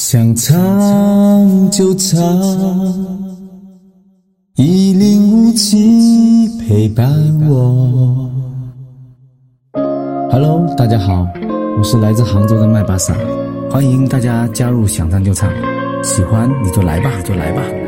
想唱就唱，1057陪伴我。Hello， 大家好，我是来自杭州的麦巴萨，欢迎大家加入想唱就唱，喜欢你就来吧，就来吧。